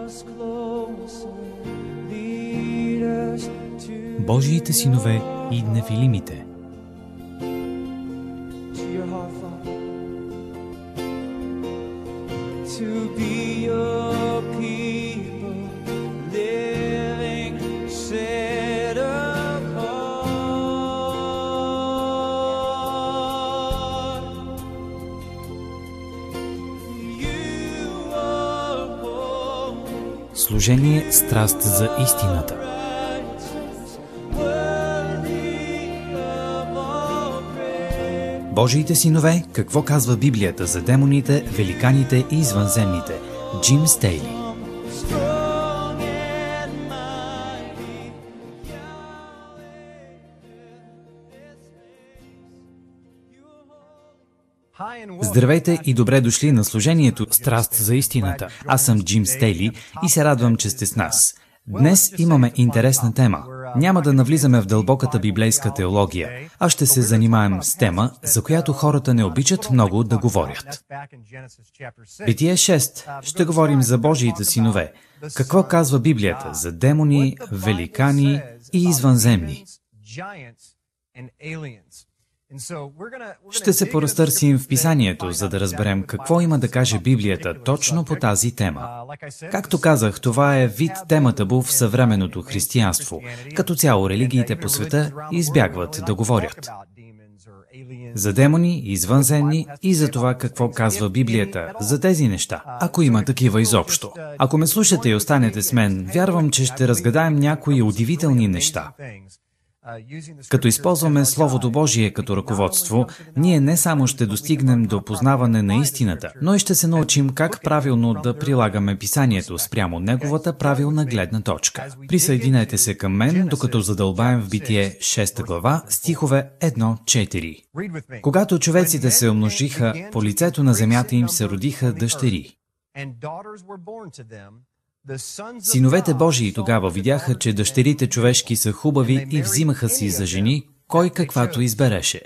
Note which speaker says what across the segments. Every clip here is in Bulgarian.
Speaker 1: Божиите синове и нефилимите. Служение страст за истината. Божиите синове, какво казва Библията за демоните, великаните и извънземните? Джим Стейли. Здравейте и добре дошли на служението Страст за истината. Аз съм Джим Стейли и се радвам, че сте с нас. Днес имаме интересна тема. Няма да навлизаме в дълбоката библейска теология, а ще се занимаем с тема, за която хората не обичат много да говорят. Битие 6. Ще говорим за Божиите синове. Какво казва Библията за демони, великани и извънземни? Ще се поразтърсим в Писанието, за да разберем какво има да каже Библията точно по тази тема. Както казах, това е вид тема табу в съвременното християнство. Като цяло религиите по света избягват да говорят за демони, извънземни и за това какво казва Библията за тези неща, ако има такива изобщо. Ако ме слушате и останете с мен, вярвам, че ще разгадаем някои удивителни неща. Като използваме Словото Божие като ръководство, ние не само ще достигнем до познаване на истината, но и ще се научим как правилно да прилагаме Писанието спрямо неговата правилна гледна точка. Присъединете се към мен, докато задълбаем в Битие 6 глава, стихове 1-4. Когато човеците се умножиха, по лицето на земята им се родиха дъщери. Синовете Божии тогава видяха, че дъщерите човешки са хубави и взимаха си за жени, кой каквато избереше.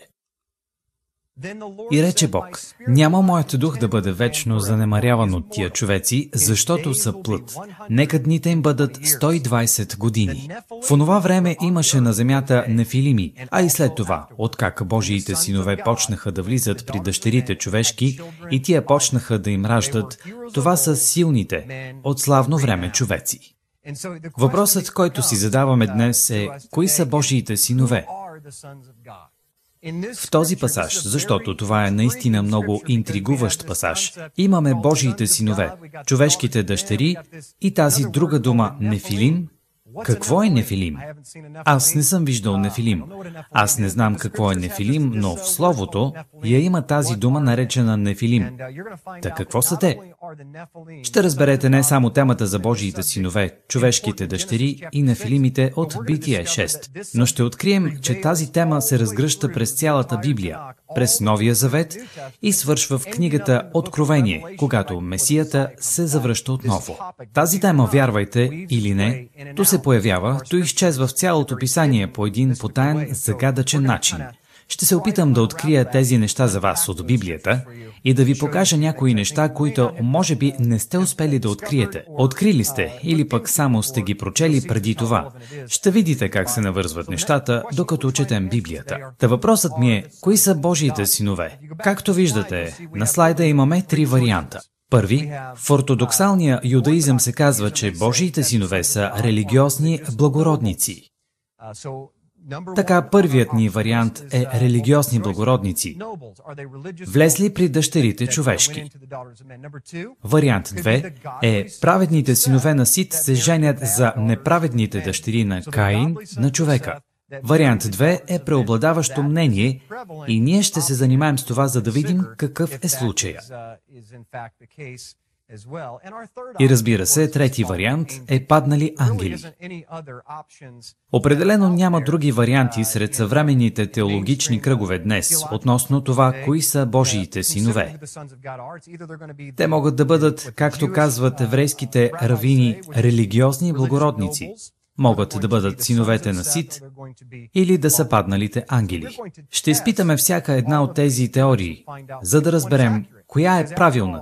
Speaker 1: И рече Бог: няма моят дух да бъде вечно занемаряван от тия човеци, защото са плът. Нека дните им бъдат 120 години. В онова време имаше на земята нефилими, а и след това, откак Божиите синове почнаха да влизат при дъщерите човешки и тия почнаха да им раждат, това са силните, от славно време човеци. Въпросът, който си задаваме днес е: кои са Божиите синове? В този пасаж, защото това е наистина много интригуващ пасаж, имаме Божиите синове, човешките дъщери и тази друга дума нефилим. Какво е нефилим? Аз не съм виждал нефилим. Аз не знам какво е нефилим, но в Словото я има тази дума наречена нефилим. Та какво са те? Ще разберете не само темата за Божиите синове, човешките дъщери и нефилимите от Битие 6, но ще открием, че тази тема се разгръща през цялата Библия, през Новия Завет и свършва в книгата Откровение, когато Месията се завръща отново. Тази тема, вярвайте или не, то се появява, то изчезва в цялото Писание по един потаен, загадъчен начин. Ще се опитам да открия тези неща за вас от Библията и да ви покажа някои неща, които може би не сте успели да откриете. Открили сте или пък само сте ги прочели преди това. Ще видите как се навързват нещата, докато четем Библията. Та въпросът ми е: кои са Божиите синове? Както виждате, на слайда имаме 3 варианта. Първи, в ортодоксалния юдаизъм се казва, че Божиите синове са религиозни благородници. Така, първият ни вариант е религиозни благородници, влезли при дъщерите човешки. Вариант 2 е праведните синове на Сит се женят за неправедните дъщери на Каин, на човека. Вариант 2 е преобладаващо мнение и ние ще се занимаем с това, за да видим какъв е случая. И разбира се, трети вариант е паднали ангели. Определено няма други варианти сред съвременните теологични кръгове днес относно това, кои са Божиите синове. Те могат да бъдат, както казват еврейските равини, религиозни благородници. Могат да бъдат синовете на Сит или да са падналите ангели. Ще изпитаме всяка една от тези теории, за да разберем коя е правилната.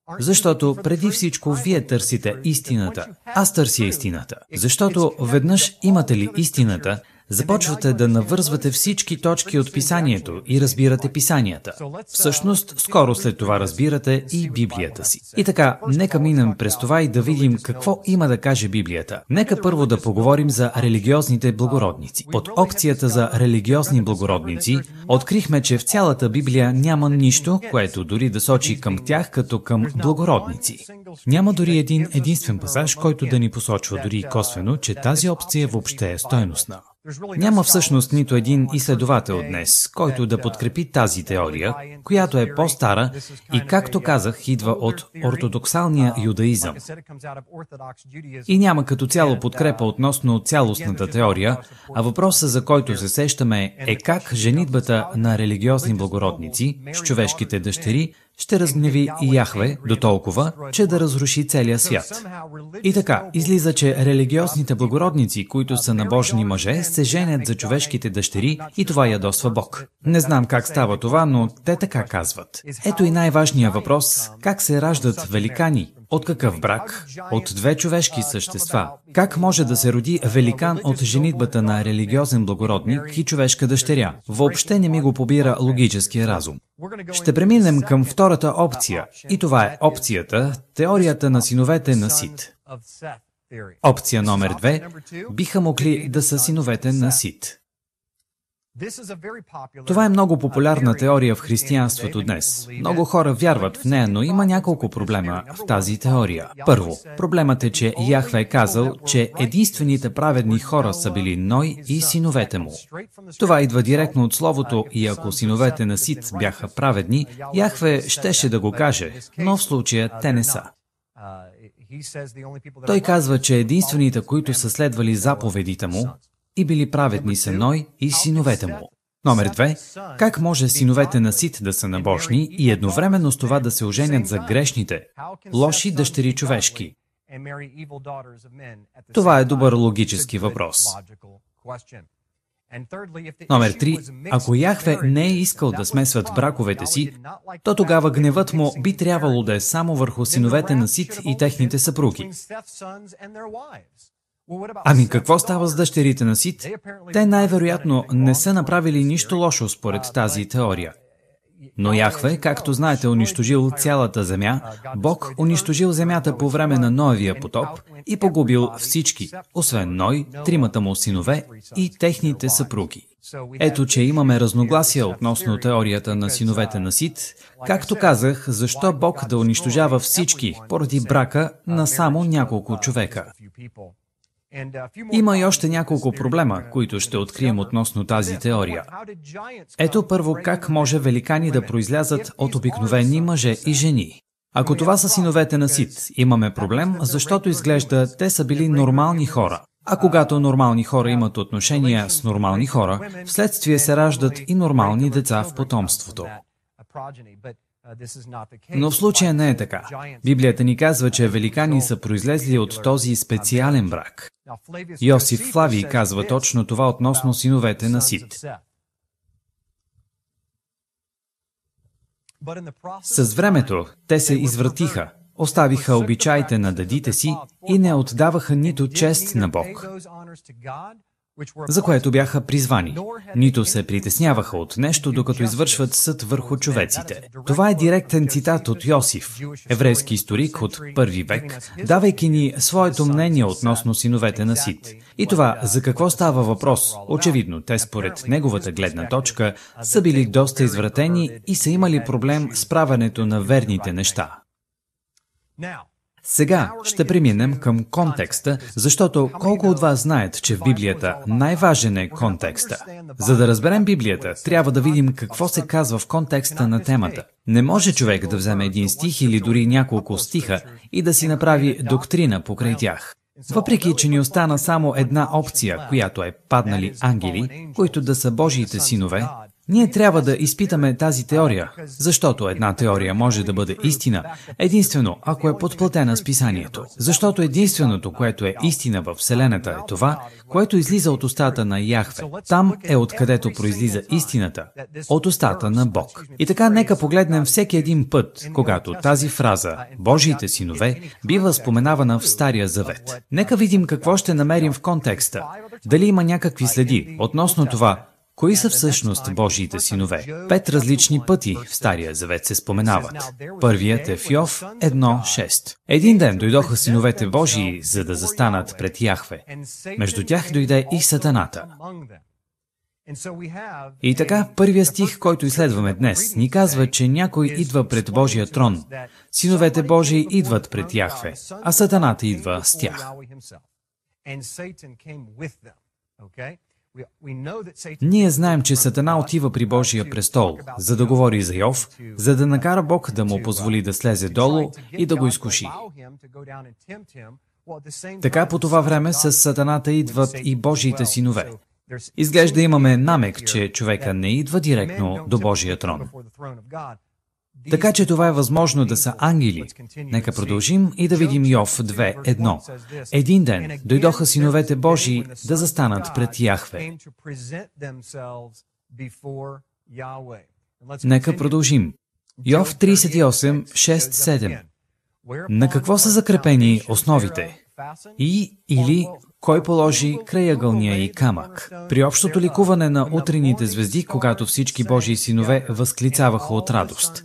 Speaker 1: Защото преди всичко вие търсите истината. Аз търся истината. Защото веднъж имате ли истината, започвате да навързвате всички точки от писанието и разбирате писанията. Всъщност, скоро след това разбирате и Библията си. И така, нека минем през това и да видим какво има да каже Библията. Нека първо да поговорим за религиозните благородници. Под опцията за религиозни благородници открихме, че в цялата Библия няма нищо, което дори да сочи към тях като към благородници. Няма дори един единствен пасаж, който да ни посочва дори и косвено, че тази опция въобще е стойностна. Няма всъщност нито един изследовател днес, който да подкрепи тази теория, която е по-стара и, както казах, идва от ортодоксалния юдаизъм. И няма като цяло подкрепа относно цялостната теория, а въпросът, за който се сещаме, е как женитбата на религиозни благородници с човешките дъщери ще разгневи Яхве дотолкова, че да разруши целия свят. И така, излиза, че религиозните благородници, които са набожни мъже, се женят за човешките дъщери и това ядосва Бог. Не знам как става това, но те така казват. Ето и най-важният въпрос – как се раждат великани? От какъв брак? От две човешки същества. Как може да се роди великан от женитбата на религиозен благородник и човешка дъщеря? Въобще не ми го побира логическия разум. Ще преминем към втората опция, и това е опцията – теорията на синовете на Сит. Опция номер 2 – биха могли да са синовете на Сит. Това е много популярна теория в християнството днес. Много хора вярват в нея, но има няколко проблема в тази теория. Първо, проблемът е, че Яхве е казал, че единствените праведни хора са били Ной и синовете му. Това идва директно от словото и ако синовете на Сит бяха праведни, Яхве щеше да го каже, но в случая те не са. Той казва, че единствените, които са следвали заповедите му, и били праведни са Ной и синовете му. Номер 2. Как може синовете на Сит да са набожни и едновременно с това да се оженят за грешните, лоши дъщери човешки? Това е добър логически въпрос. Номер 3. Ако Яхве не е искал да смесват браковете си, то тогава гневът му би трябвало да е само върху синовете на Сит и техните съпруги. Ами какво става с дъщерите на Сит? Те най-вероятно не са направили нищо лошо според тази теория. Но Яхве, както знаете, унищожил цялата земя, Бог унищожил земята по време на Ноевия потоп и погубил всички, освен Ной, тримата му синове и техните съпруги. Ето, че имаме разногласия относно теорията на синовете на Сит. Както казах, защо Бог да унищожава всички поради брака на само няколко човека? Има и още няколко проблема, които ще открием относно тази теория. Ето първо как може великани да произлязат от обикновени мъже и жени. Ако това са синовете на Сит, имаме проблем, защото изглежда те са били нормални хора. А когато нормални хора имат отношения с нормални хора, вследствие се раждат и нормални деца в потомството. Но в случая не е така. Библията ни казва, че великани са произлезли от този специален брак. Йосиф Флавий казва точно това относно синовете на Сит. С времето те се извратиха, оставиха обичаите на дедите си и не отдаваха нито чест на Бог, за което бяха призвани, нито се притесняваха от нещо, докато извършват съд върху човеците. Това е директен цитат от Йосиф, еврейски историк от първи век, давайки ни своето мнение относно синовете на Сит. И това, за какво става въпрос? Очевидно, те според неговата гледна точка са били доста извратени и са имали проблем с правенето на верните неща. Сега ще преминем към контекста, защото колко от вас знаят, че в Библията най-важен е контекста. За да разберем Библията, трябва да видим какво се казва в контекста на темата. Не може човек да вземе един стих или дори няколко стиха и да си направи доктрина покрай тях. Въпреки, че ни остана само една опция, която е паднали ангели, които да са Божиите синове, Ние трябва да изпитаме тази теория, защото една теория може да бъде истина, единствено ако е подплатена с писанието. Защото единственото, което е истина в Вселената е това, което излиза от устата на Яхве. Там е откъдето произлиза истината, от устата на Бог. И така нека погледнем всеки един път, когато тази фраза «Божиите синове» бива споменавана в Стария Завет. Нека видим какво ще намерим в контекста. Дали има някакви следи относно това, кои са всъщност Божиите синове? 5 различни пъти в Стария Завет се споменават. Първият е в Йов 1:6. Един ден дойдоха синовете Божии, за да застанат пред Яхве. Между тях дойде и Сатаната. И така, първият стих, който изследваме днес, ни казва, че някой идва пред Божия трон. Синовете Божии идват пред Яхве, а Сатаната идва с тях. Ние знаем, че Сатана отива при Божия престол, за да говори за Йов, за да накара Бог да му позволи да слезе долу и да го изкуши. Така по това време с Сатаната идват и Божиите синове. Изглежда имаме намек, че човека не идва директно до Божия трон. Така че това е възможно да са ангели. Нека продължим и да видим Йов 2:1. Един ден дойдоха синовете Божии да застанат пред Яхве. Нека продължим. Йов 38:6-7. На какво са закрепени основите? Или кой положи крайъгълния и камък? При общото ликуване на утрените звезди, когато всички Божии синове възклицаваха от радост.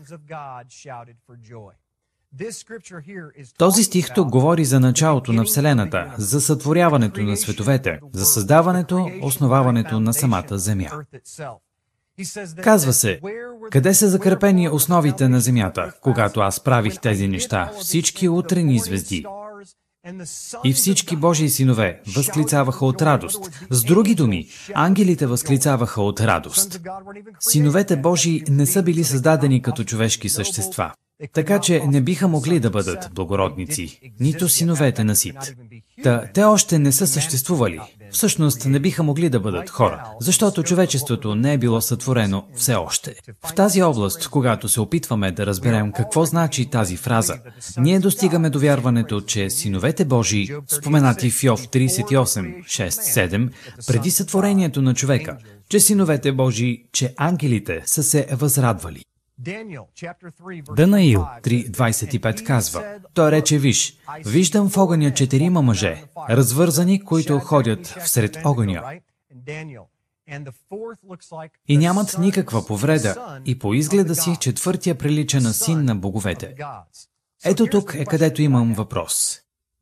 Speaker 1: Този стих тук говори за началото на Вселената, за сътворяването на световете, за създаването, основаването на самата земя. Казва се, къде са закрепени основите на земята, когато аз правих тези неща, всички утрени звезди. И всички Божии синове възклицаваха от радост. С други думи, ангелите възклицаваха от радост. Синовете Божии не са били създадени като човешки същества, така че не биха могли да бъдат благородници, нито синовете на Сит. Те още не са съществували. Всъщност не биха могли да бъдат хора, защото човечеството не е било сътворено все още. В тази област, когато се опитваме да разберем какво значи тази фраза, ние достигаме до вярването, че синовете Божии, споменати в Йов 38:6-7, преди сътворението на човека, че синовете Божии, че ангелите са се възрадвали. Данаил 3:25 казва, той рече, виж, виждам в огъня 4 мъже, развързани, които ходят всред огъня. И нямат никаква повреда, и по изгледа си четвъртия прилича на син на боговете. Ето тук е където имам въпрос.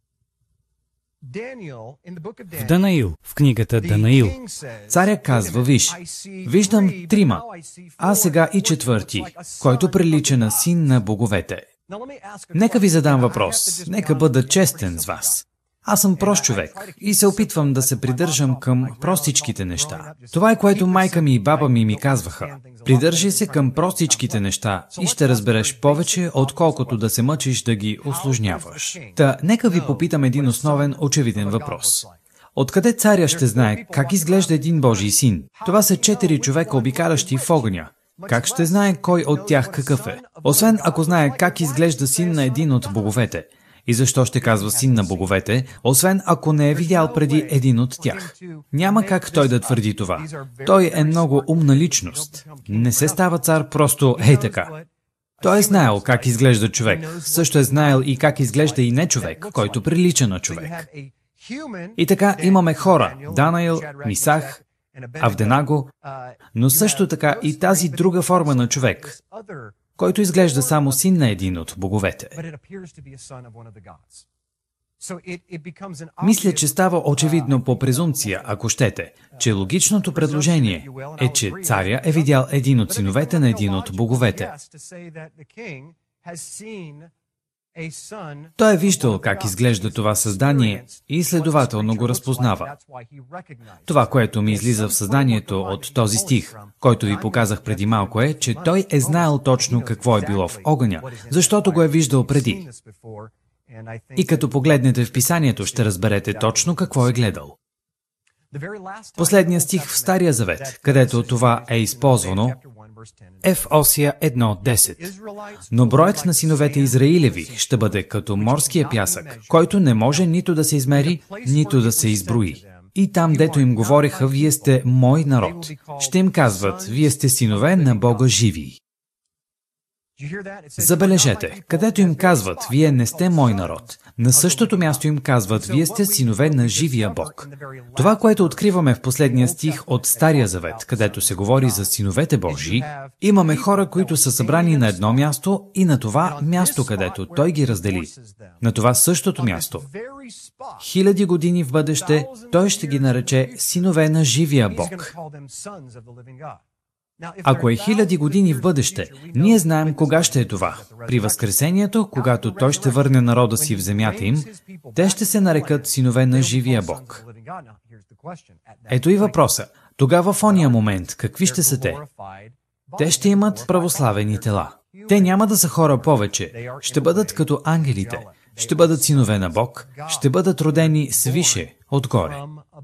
Speaker 1: В Данаил, в книгата Данаил, царя казва, виж, виждам 3, а сега и 4, който прилича на син на боговете. Нека ви задам въпрос, нека бъда честен с вас. Аз съм прост човек и се опитвам да се придържам към простичките неща. Това е което майка ми и баба ми казваха. Придържай се към простичките неща и ще разбереш повече, отколкото да се мъчиш да ги усложняваш. Нека ви попитам един основен, очевиден въпрос. Откъде царя ще знае как изглежда един Божий син? Това са 4 човека, обикалящи в огъня. Как ще знае кой от тях какъв е? Освен ако знае как изглежда син на един от боговете. И защо ще казва син на боговете, освен ако не е видял преди един от тях? Няма как той да твърди това. Той е много умна личност. Не се става цар просто ей така. Той е знаел как изглежда човек. Също е знаел и как изглежда и не човек, който прилича на човек. И така имаме хора, Данаил, Мисах, Авденаго, но също така и тази друга форма на човек, който изглежда само син на един от боговете. Мисля, че става очевидно по презумпция, ако щете, че логичното предложение е, че царя е видял един от синовете на един от боговете. Той е виждал как изглежда това създание и следователно го разпознава. Това, което ми излиза в съзнанието от този стих, който ви показах преди малко е, че той е знаел точно какво е било в огъня, защото го е виждал преди. И като погледнете в писанието, ще разберете точно какво е гледал. Последният стих в Стария завет, където това е използвано, е в Осия 1:10. Но броят на синовете Израилеви ще бъде като морския пясък, който не може нито да се измери, нито да се изброи. И там, дето им говореха, вие сте мой народ, ще им казват, вие сте синове на Бога живи. Забележете, където им казват, вие не сте мой народ, на същото място им казват, вие сте синове на живия Бог. Това, което откриваме в последния стих от Стария завет, където се говори за синовете Божии, имаме хора, които са събрани на едно място и на това място, където Той ги раздели. На това същото място. 1000 години в бъдеще, Той ще ги нарече синове на живия Бог. Ако е 1000 години в бъдеще, ние знаем кога ще е това. При Възкресението, когато Той ще върне народа си в земята им, те ще се нарекат синове на живия Бог. Ето и въпроса. Тогава в ония момент, какви ще са те? Те ще имат православени тела. Те няма да са хора повече. Ще бъдат като ангелите. Ще бъдат синове на Бог. Ще бъдат родени свише, отгоре.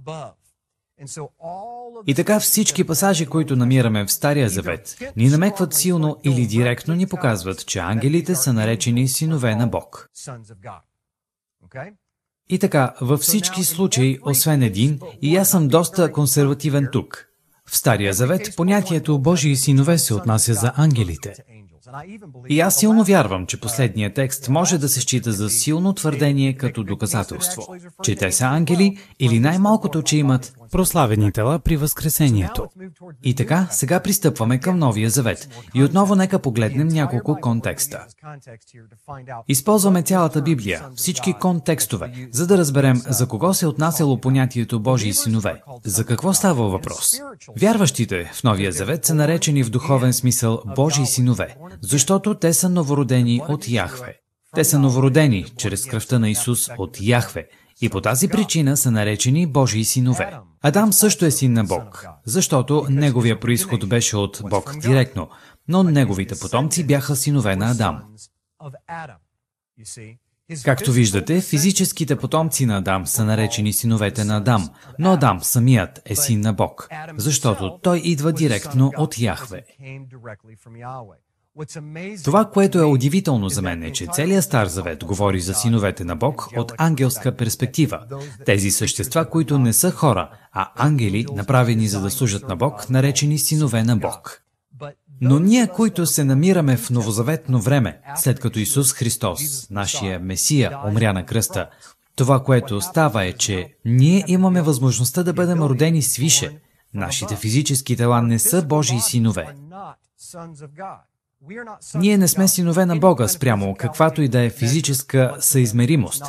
Speaker 1: И така всички пасажи, които намираме в Стария завет, ни намекват силно или директно ни показват, че ангелите са наречени синове на Бог. И така, във всички случаи, освен един, и аз съм доста консервативен тук. В Стария завет понятието Божии синове се отнася за ангелите. И аз силно вярвам, че последният текст може да се счита за силно твърдение като доказателство, че те са ангели или най-малкото, че имат прославени тела при Възкресението. И така, сега пристъпваме към Новия завет. И отново нека погледнем няколко контекста. Използваме цялата Библия, всички контекстове, за да разберем за кого се отнасяло понятието Божии синове. За какво става въпрос? Вярващите в Новия завет са наречени в духовен смисъл Божии синове, защото те са новородени от Яхве. Те са новородени чрез кръвта на Исус от Яхве и по тази причина са наречени Божии синове. Адам също е син на Бог, защото неговия произход беше от Бог директно, но неговите потомци бяха синове на Адам. Както виждате, физическите потомци на Адам са наречени синовете на Адам, но Адам самият е син на Бог, защото той идва директно от Яхве. Това, което е удивително за мен е, че целият Стар завет говори за синовете на Бог от ангелска перспектива. Тези същества, които не са хора, а ангели, направени за да служат на Бог, наречени синове на Бог. Но ние, които се намираме в новозаветно време, след като Исус Христос, нашия Месия, умря на кръста, това, което става е, че ние имаме възможността да бъдем родени свише. Нашите физически тела не са Божии синове. Ние не сме синове на Бога спрямо каквато и да е физическа съизмеримост.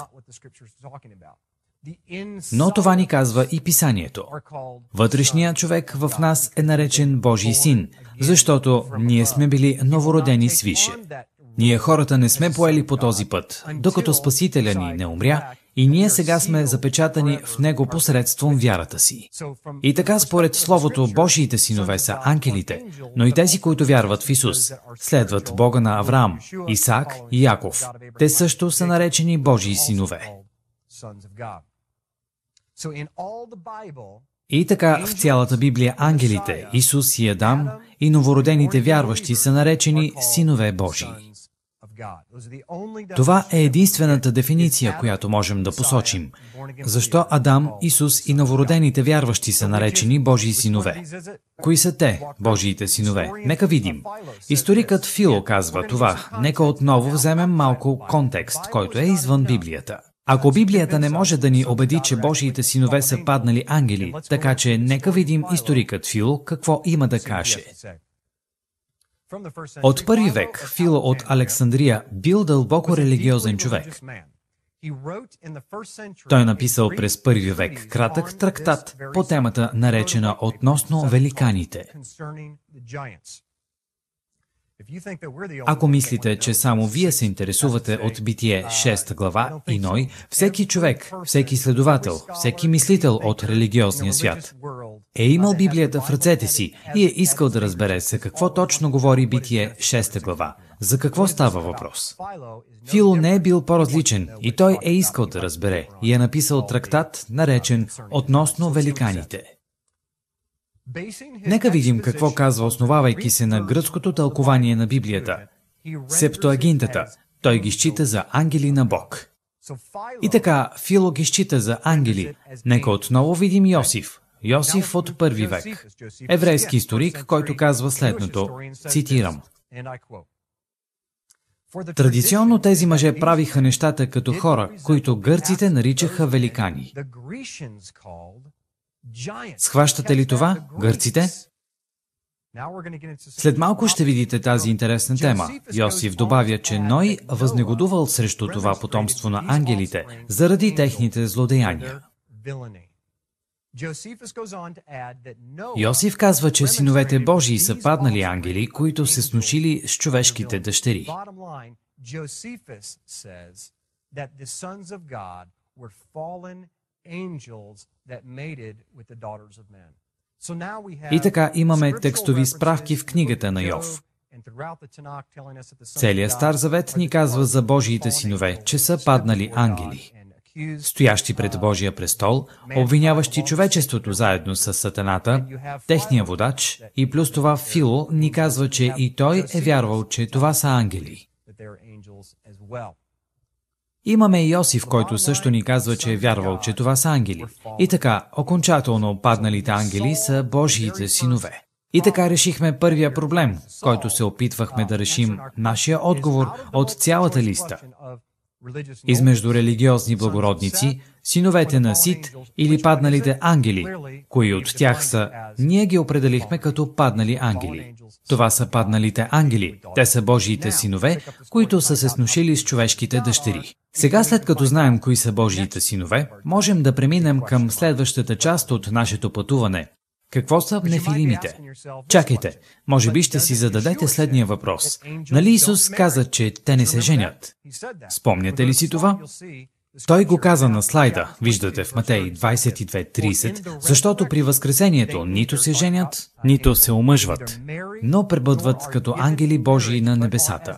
Speaker 1: Но това ни казва и Писанието. Вътрешният човек в нас е наречен Божий син, защото ние сме били новородени свише. Ние хората не сме поели по този път, докато Спасителя ни не умря, и ние сега сме запечатани в Него посредством вярата си. И така, според Словото, Божиите синове са ангелите, но и тези, които вярват в Исус, следват Бога на Авраам, Исаак и Яков. Те също са наречени Божии синове. И така, в цялата Библия ангелите, Исус и Адам и новородените вярващи са наречени синове Божии. Това е единствената дефиниция, която можем да посочим. Защо Адам, Исус и новородените вярващи са наречени Божии синове? Кои са те, Божиите синове? Нека видим. Историкът Фило казва това. Нека отново вземем малко контекст, който е извън Библията. Ако Библията не може да ни убеди, че Божиите синове са паднали ангели, така че нека видим историкът Фило какво има да каже. От първи век Фило от Александрия бил дълбоко религиозен човек. Той написал през първи век кратък трактат по темата, наречена относно великаните. Ако мислите, че само вие се интересувате от Битие 6 глава и Ной, всеки човек, всеки следовател, всеки мислител от религиозния свят е имал Библията в ръцете си и е искал да разбере за какво точно говори Битие 6 глава. За какво става въпрос? Фило не е бил по-различен и той е искал да разбере и е написал трактат, наречен «Относно великаните». Нека видим какво казва, основавайки се на гръцкото тълкование на Библията. Септуагинтата. Той ги счита за ангели на Бог. И така, Фило ги счита за ангели. Нека отново видим Йосиф. Йосиф от първи век. Еврейски историк, който казва следното, цитирам. Традиционно тези мъже правиха нещата като хора, които гърците наричаха великани. Схващате ли това, гърците? След малко ще видите тази интересна тема. Йосиф добавя, че Ной възнегодувал срещу това потомство на ангелите, заради техните злодеяния. Йосиф казва, че синовете Божии са паднали ангели, които се сношили с човешките дъщери. И така имаме текстови справки в книгата на Йов. Целият Стар Завет ни казва за Божиите синове, че са паднали ангели, стоящи пред Божия престол, обвиняващи човечеството заедно с Сатаната, техния водач, и плюс това Фило ни казва, че и той е вярвал, че това са ангели. Имаме и Йосиф, който също ни казва, че е вярвал, че това са ангели. И така, окончателно падналите ангели са Божиите синове. И така решихме първия проблем, който се опитвахме да решим, нашия отговор от цялата листа. Измежду религиозни благородници, синовете на Сит или падналите ангели, кои от тях са, ние ги определихме като паднали ангели. Това са падналите ангели, те са Божиите синове, които са се сношили с човешките дъщери. Сега, след като знаем кои са Божиите синове, можем да преминем към следващата част от нашето пътуване. Какво са нефилимите? Чакайте, може би ще си зададете следния въпрос. Нали Исус каза, че те не се женят? Спомняте ли си това? Той го каза на слайда, виждате в Матей 22:30, защото при възкресението нито се женят, нито се омъжват, но пребъдват като ангели Божии на небесата.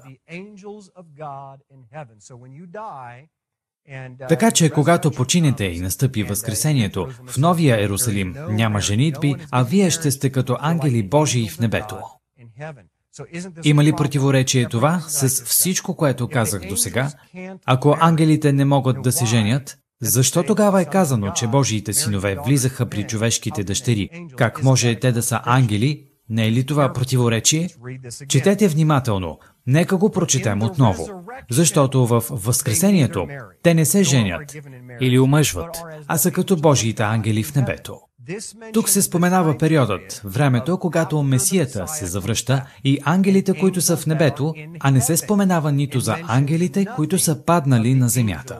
Speaker 1: Така че, когато починете и настъпи възкресението, в Новия Иерусалим няма женитби, а вие ще сте като ангели Божии в небето. Има ли противоречие това с всичко, което казах досега? Ако ангелите не могат да се женят, защо тогава е казано, че Божиите синове влизаха при човешките дъщери? Как може те да са ангели? Не е ли това противоречие? Четете внимателно. Нека го прочетем отново. Защото в възкресението те не се женят или омъжват, а са като Божиите ангели в небето. Тук се споменава периодът, времето, когато Месията се завръща и ангелите, които са в небето, а не се споменава нито за ангелите, които са паднали на земята.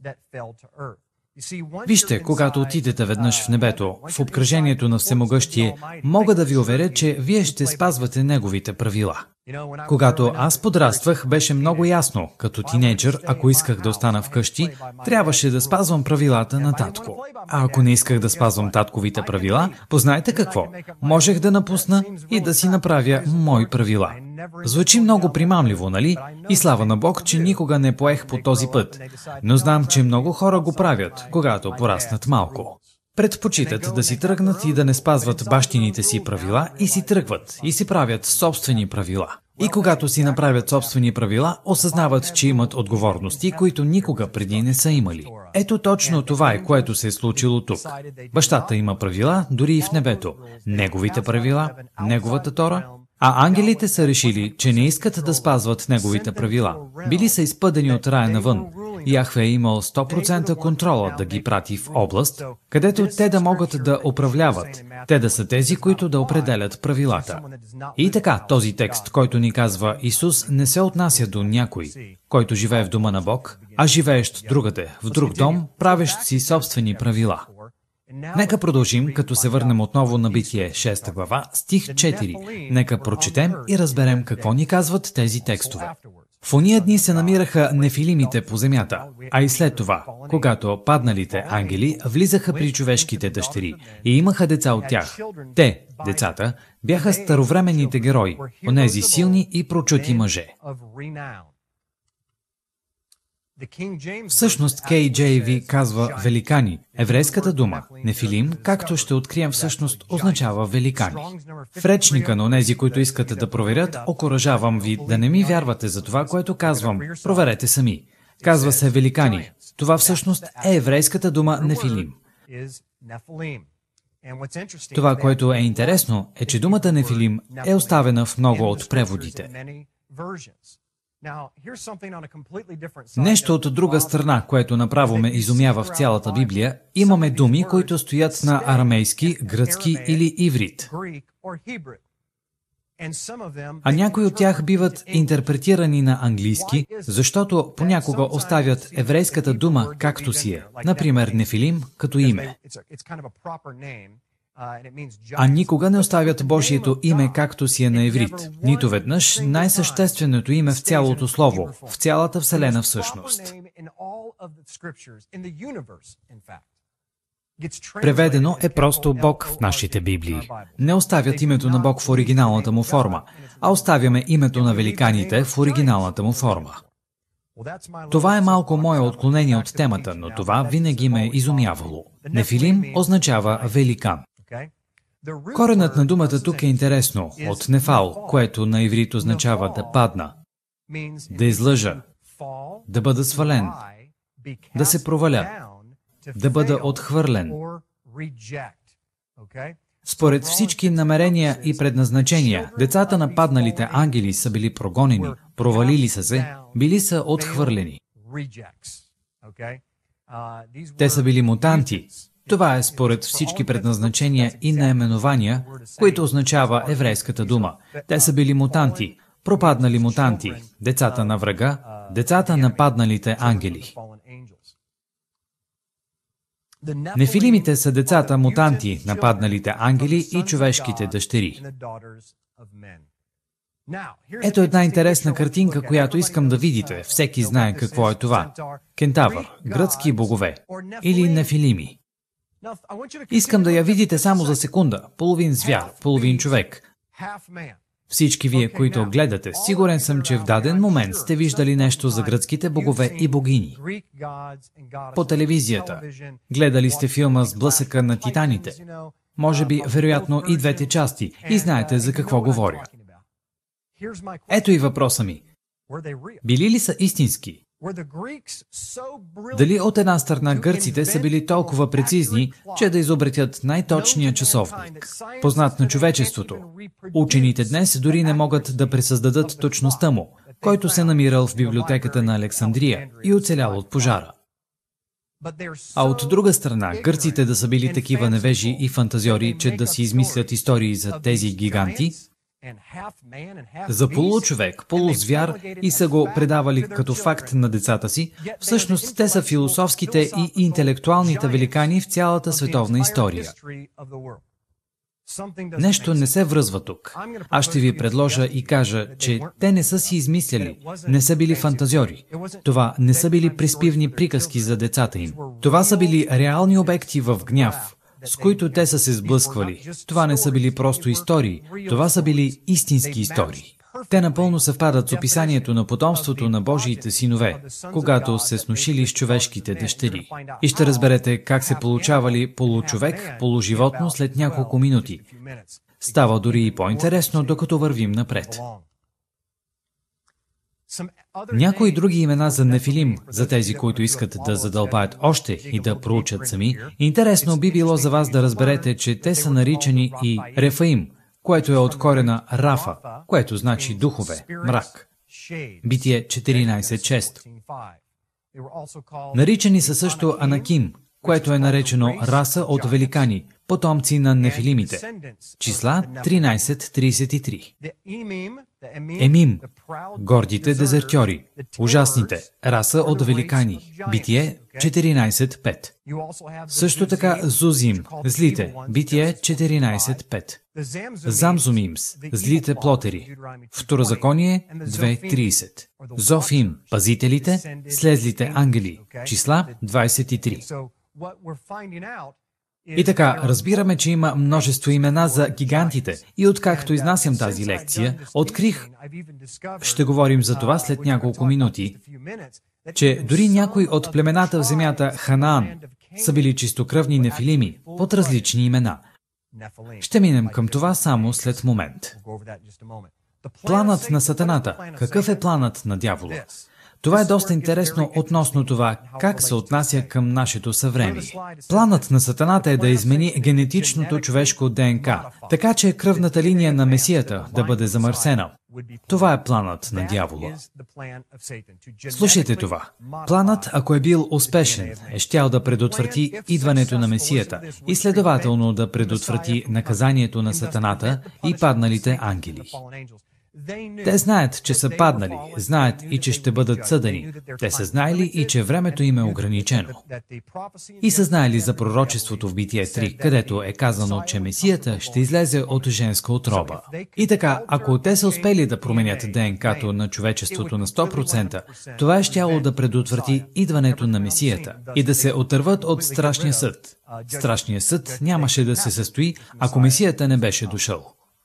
Speaker 1: Вижте, когато отидете веднъж в небето, в обкръжението на Всемогъщие, мога да ви уверя, че вие ще спазвате неговите правила. Когато аз подраствах, беше много ясно, като тинейджър, ако исках да остана вкъщи, трябваше да спазвам правилата на татко. А ако не исках да спазвам татковите правила, познайте какво? Можех да напусна и да си направя мои правила. Звучи много примамливо, нали? И слава на Бог, че никога не поех по този път. Но знам, че много хора го правят, когато пораснат малко. Предпочитат да си тръгнат и да не спазват бащините си правила и си тръгват и си правят собствени правила. И когато си направят собствени правила, осъзнават, че имат отговорности, които никога преди не са имали. Ето точно това е, което се е случило тук. Бащата има правила, дори и в небето. Неговите правила, неговата Тора. А ангелите са решили, че не искат да спазват неговите правила. Били са изпъдени от рая навън. Яхве е имал 100% контрола да ги прати в област, където те да могат да управляват. Те да са тези, които да определят правилата. И така, този текст, който ни казва Исус, не се отнася до някой, който живее в дома на Бог, а живеещ другаде, в друг дом, правещ си собствени правила. Нека продължим, като се върнем отново на Битие 6 глава, стих 4. Нека прочетем и разберем какво ни казват тези текстове. В ония дни се намираха нефилимите по земята, а и след това, когато падналите ангели влизаха при човешките дъщери и имаха деца от тях. Те, децата, бяха старовременните герои, онези силни и прочути мъже. Всъщност KJV казва великани. Еврейската дума нефилим, както ще открием всъщност, означава великани. В речника на онези, които искате да проверят, окуражавам ви да не ми вярвате за това, което казвам. Проверете сами. Казва се великани. Това всъщност е еврейската дума нефилим. Това, което е интересно, е, че думата нефилим е оставена в много от преводите. Нещо от друга страна, което направо ме изумява в цялата Библия, имаме думи, които стоят на арамейски, гръцки или иврит. А някои от тях биват интерпретирани на английски, защото понякога оставят еврейската дума както си е, например нефилим като име. А никога не оставят Божието име както си е на иврит. Нито веднъж най-същественото име в цялото слово, в цялата Вселена всъщност. Преведено е просто Бог в нашите Библии. Не оставят името на Бог в оригиналната му форма, а оставяме името на великаните в оригиналната му форма. Това е малко мое отклонение от темата, но това винаги ме е изумявало. Нефилим означава великан. Коренът на думата тук е интересно, от нефал, което на иврит означава да падна, да излъжа, да бъда свален, да се проваля, да бъда отхвърлен. Според всички намерения и предназначения, децата на падналите ангели са били прогонени, провалили са се, били са отхвърлени. Те са били мутанти. Това е според всички предназначения и наименования, които означава еврейската дума. Те са били мутанти, пропаднали мутанти, децата на врага, децата на падналите ангели. Нефилимите са децата мутанти на падналите ангели и човешките дъщери. Ето една интересна картинка, която искам да видите. Всеки знае какво е това. Кентавър, гръцки богове или нефилими. Искам да я видите само за секунда. Половин звяр, половин човек. Всички вие, които гледате, сигурен съм, че в даден момент сте виждали нещо за гръцките богове и богини. По телевизията. Гледали сте филма с блъсъка на титаните. Може би, вероятно, и двете части. И знаете за какво говоря. Ето и въпроса ми. Били ли са истински? Дали от една страна гърците са били толкова прецизни, че да изобретят най-точния часовник, познат на човечеството? Учените днес дори не могат да пресъздадат точността му, който се намирал в библиотеката на Александрия и оцелял от пожара. А от друга страна, гърците да са били такива невежи и фантазьори, че да си измислят истории за тези гиганти, за получовек, полузвяр и са го предавали като факт на децата си, всъщност те са философските и интелектуалните великани в цялата световна история. Нещо не се връзва тук. Аз ще ви предложа и кажа, че те не са си измисляли, не са били фантазьори. Това не са били приспивни приказки за децата им. Това са били реални обекти в гняв, с които те са се сблъсквали. Това не са били просто истории, това са били истински истории. Те напълно съвпадат с описанието на потомството на Божиите синове, когато се сношили с човешките дъщери. И ще разберете как се получавали получовек, полуживотно след няколко минути. Става дори и по-интересно, докато вървим напред. Някои други имена за нефилим, за тези, които искат да задълбаят още и да проучат сами, интересно би било за вас да разберете, че те са наричани и Рефаим, което е от корена Рафа, което значи духове, мрак. Битие 14.6. Наричани са също Анаким, което е наречено раса от великани, потомци на нефилимите. Числа 13:33. Емим, гордите дезертьори, ужасните, раса от великани. Битие 14:5. Също така Зузим, злите. Битие 14:5. Замзумимс, злите плотери. Второзаконие 2:30. Зофим, пазителите, слезлите ангели. Числа 23. И така, разбираме, че има множество имена за гигантите. И откакто изнасям тази лекция, открих, ще говорим за това след няколко минути, че дори някои от племената в земята Ханаан са били чистокръвни нефилими под различни имена. Ще минем към това само след момент. Планът на Сатаната. Какъв е планът на дявола? Това е доста интересно относно това, как се отнася към нашето съвремие. Планът на Сатаната е да измени генетичното човешко ДНК, така че кръвната линия на Месията да бъде замърсена. Това е планът на дявола. Слушайте това. Планът, ако е бил успешен, е щял да предотврати идването на Месията и следователно да предотврати наказанието на Сатаната и падналите ангели. Те знаят, че са паднали, знаят и че ще бъдат съдени. Те са знаели и че времето им е ограничено. И са знаели за пророчеството в Битие 3, където е казано, че Месията ще излезе от женска утроба. И така, ако те са успели да променят ДНК-то на човечеството на 100%, това е щяло да предотврати идването на Месията и да се отърват от страшния съд. Страшният съд нямаше да се състои, ако Месията не беше дошъл.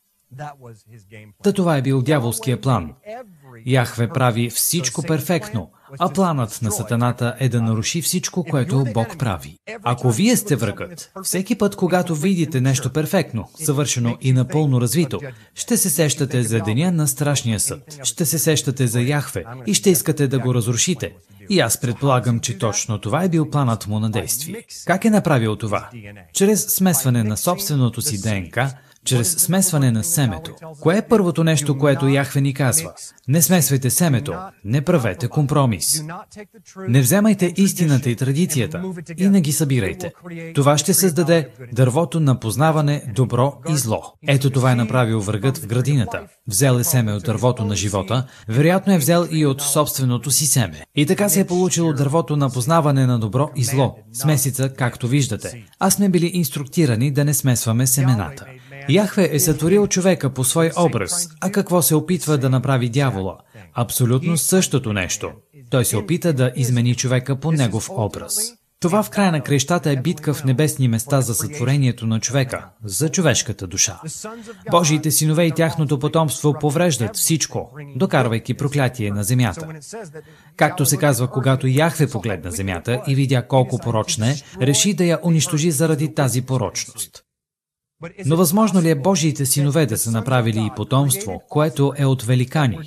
Speaker 1: Та това е бил дяволския план. Яхве прави всичко перфектно, а планът на Сатаната е да наруши всичко, което Бог прави. Ако вие сте врагът, всеки път, когато видите нещо перфектно, съвършено и напълно развито, ще се сещате за деня на страшния съд. Ще се сещате за Яхве и ще искате да го разрушите. И аз предполагам, че точно това е бил планът му на действие. Как е направил това? Чрез смесване на собственото си ДНК, чрез смесване на семето. Кое е първото нещо, което Яхве ни казва? Не смесвайте семето, не правете компромис. Не вземайте истината и традицията и не ги събирайте. Това ще създаде дървото на познаване добро и зло. Ето това е направил врагът в градината. Взел е семе от дървото на живота, вероятно е взел и от собственото си семе. И така се е получило дървото на познаване на добро и зло. Смесица, както виждате. А сме били инструктирани да не смесваме семената. Яхве е сътворил човека по свой образ, а какво се опитва да направи дявола? Абсолютно същото нещо. Той се опита да измени човека по негов образ. Това в края на краищата е битка в небесни места за сътворението на човека, за човешката душа. Божиите синове и тяхното потомство повреждат всичко, докарвайки проклятие на земята. Както се казва, когато Яхве погледна земята и видя колко порочна е, реши да я унищожи заради тази порочност. Но възможно ли е Божиите синове да са направили и потомство, което е от великани?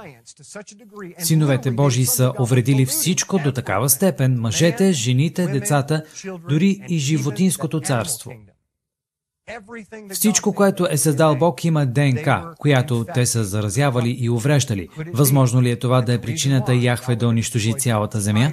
Speaker 1: Синовете Божии са увредили всичко до такава степен, мъжете, жените, децата, дори и животинското царство. Всичко, което е създал Бог, има ДНК, която те са заразявали и увреждали. Възможно ли е това да е причината Яхве да унищожи цялата земя?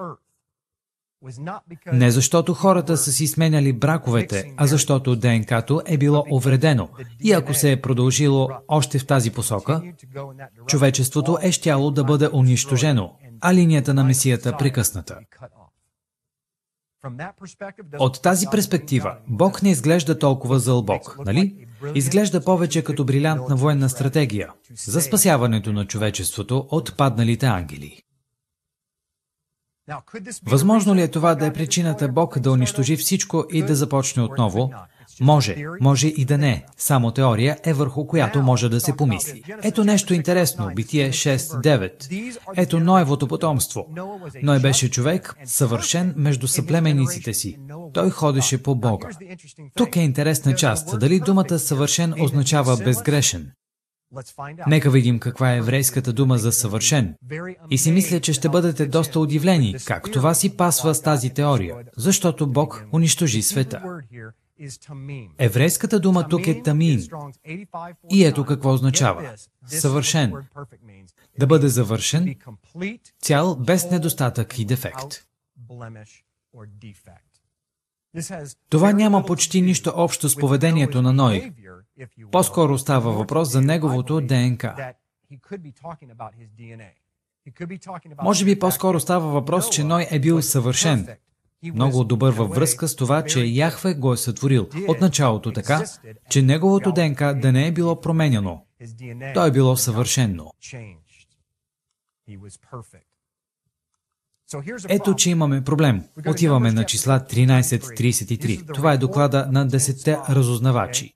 Speaker 1: Не защото хората са си сменяли браковете, а защото ДНК-то е било увредено. И ако се е продължило още в тази посока, човечеството е щяло да бъде унищожено, а линията на Месията прекъсната. От тази перспектива, Бог не изглежда толкова зъл Бог, нали? Изглежда повече като брилянтна военна стратегия за спасяването на човечеството от падналите ангели. Възможно ли е това да е причината Бог да унищожи всичко и да започне отново? Може и да не. Само теория е върху която може да се помисли. Ето нещо интересно. Битие 6:9. Ето Ноевото потомство. Ной беше човек, съвършен между съплеменниците си. Той ходеше по Бога. Тук е интересна част. Дали думата съвършен означава безгрешен? Нека видим каква е еврейската дума за съвършен. И си мисля, че ще бъдете доста удивлени, как това си пасва с тази теория, защото Бог унищожи света. Еврейската дума тук е тамим. И ето какво означава. Съвършен. Да бъде завършен, цял без недостатък и дефект. Това няма почти нищо общо с поведението на Ной. По-скоро става въпрос за неговото ДНК. Може би по-скоро става въпрос, че Ной е бил съвършен, много добър във връзка с това, че Яхве го е сътворил от началото така, че неговото ДНК да не е било променяно. То е било съвършено. Ето, че имаме проблем. Отиваме на числа 13:33. Това е доклада на 10-те разузнавачи.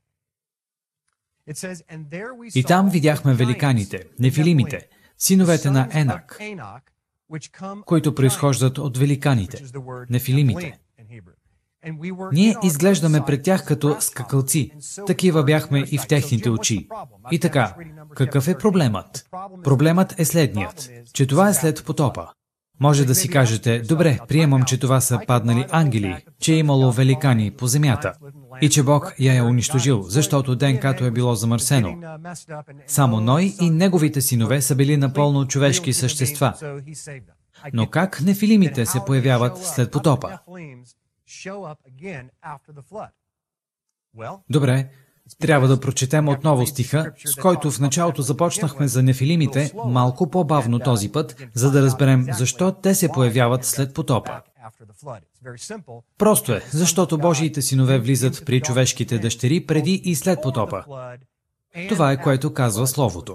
Speaker 1: И там видяхме великаните, нефилимите, синовете на Енак, които произхождат от великаните, нефилимите. Ние изглеждаме пред тях като скакалци. Такива бяхме и в техните очи. И така, какъв е проблемът? Проблемът е следният, че това е след потопа. Може да си кажете, добре, приемам, че това са паднали ангели, че е имало великани по земята и че Бог я е унищожил, защото ДНК-то е било замърсено. Само Ной и неговите синове са били напълно човешки същества. Но как нефилимите се появяват след потопа? Добре, трябва да прочетем отново стиха, с който в началото започнахме за нефилимите, малко по-бавно този път, за да разберем защо те се появяват след потопа. Просто е, защото Божиите синове влизат при човешките дъщери преди и след потопа. Това е, което казва Словото.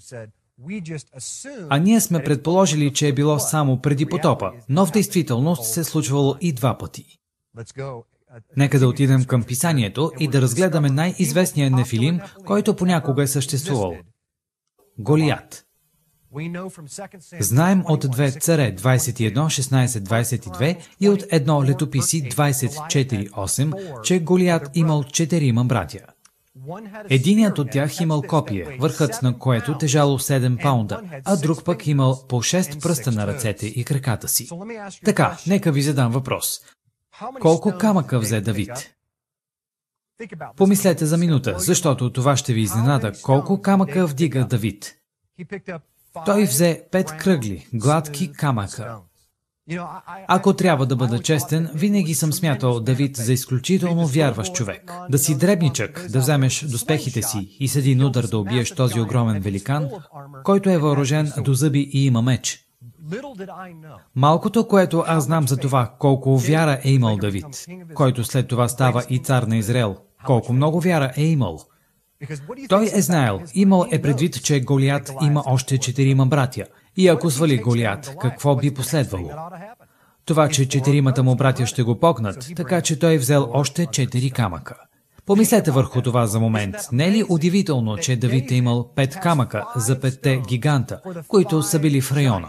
Speaker 1: А ние сме предположили, че е било само преди потопа, но в действителност се е случвало и два пъти. Нека да отидем към Писанието и да разгледаме най-известния нефилим, който понякога е съществувал. Голиат. Знаем от 2 Царе 21:16-22 и от 1 Летописи 24:8, че Голиат имал 4 братя. Единият от тях имал копие, върхът на което тежало 7 паунда, а друг пък имал по 6 пръста на ръцете и краката си. Така, нека ви задам въпрос. Колко камъка взе Давид? Помислете за минута, защото това ще ви изненада. Колко камъка вдига Давид? Той взе 5 кръгли, гладки камъка. Ако трябва да бъда честен, винаги съм смятал Давид за изключително вярващ човек. Да си дребничък, да вземеш доспехите си и с един удар да убиеш този огромен великан, който е въоръжен до зъби и има меч. Малкото, което аз знам за това, колко вяра е имал Давид, който след това става и цар на Израел, колко много вяра е имал. Той е знаел, имал е предвид, че Голиат има още 4 братя. И ако свали Голиат, какво би последвало? Това, че 4 му братя ще го покнат, така че той е взел още 4 камъка. Помислете върху това за момент. Не е ли удивително, че Давид е имал 5 камъка за 5-те гиганта, които са били в района?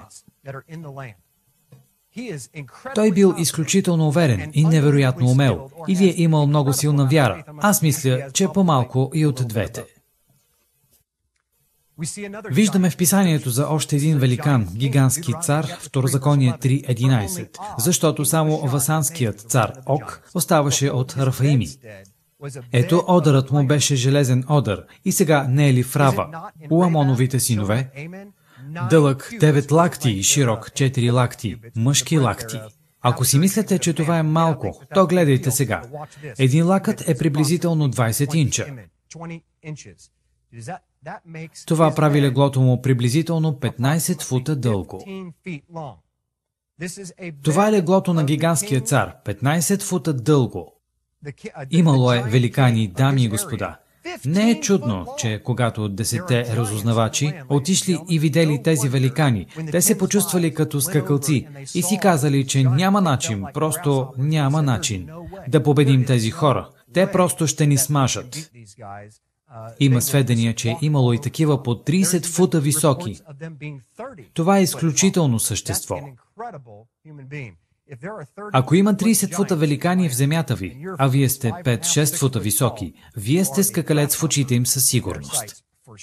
Speaker 1: Той бил изключително уверен и невероятно умел, или е имал много силна вяра. Аз мисля, че по-малко и от двете. Виждаме в Писанието за още един великан, гигантски цар, Второзаконие 3:11, защото само васанският цар Ог оставаше от Рафаими. Ето, одърът му беше железен одър, и сега не е ли в Рава, у Амоновите синове? Дълъг 9 лакти и широк 4 лакти, мъжки лакти. Ако си мислите, че това е малко, то гледайте сега. Един лакът е приблизително 20 инча. Това прави леглото му приблизително 15 фута дълго. Това е леглото на гигантския цар, 15 фута дълго. Имало е великани, дами и господа. Не е чудно, че когато 10-те разузнавачи отишли и видели тези великани, те се почувствали като скакалци и си казали, че няма начин, просто няма начин да победим тези хора. Те просто ще ни смажат. Има сведения, че е имало и такива по 30 фута високи. Това е изключително същество. Ако има 30 фута великани в земята ви, а вие сте 5-6 фута високи, вие сте скакалец в очите им със сигурност.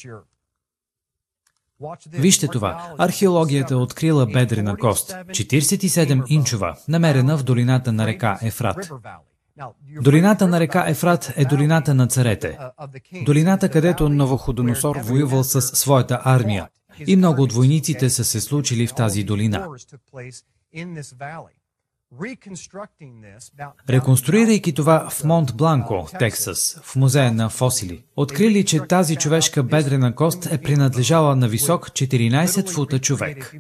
Speaker 1: Вижте това. Археологията открила бедрена кост, 47 инчова, намерена в долината на река Ефрат. Долината на река Ефрат е долината на царете. Долината, където Навуходоносор воювал със своята армия. И много от войниците са се случили в тази долина. Реконструирайки това в Монт Бланко, Тексас, в музея на фосили, открили, че тази човешка бедрена кост е принадлежала на висок 14 фута човек.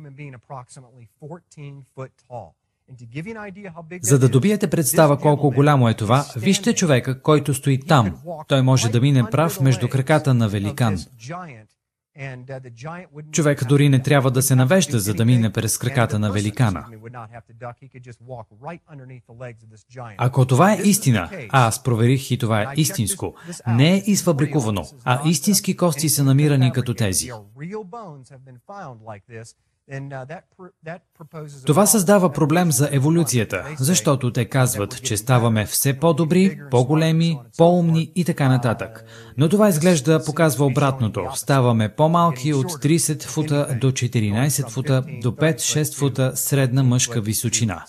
Speaker 1: За да добиете представа колко голямо е това, вижте човека, който стои там. Той може да мине прав между краката на великан. Човек дори не трябва да се навежда, за да мине през краката на великана. Ако това е истина, а аз проверих и това е истинско, не е изфабрикувано, а истински кости са намирани като тези. Това създава проблем за еволюцията, защото те казват, че ставаме все по-добри, по-големи, по-умни и така нататък. Но това изглежда показва обратното. Ставаме по-малки от 30 фута до 14 фута до 5-6 фута средна мъжка височина.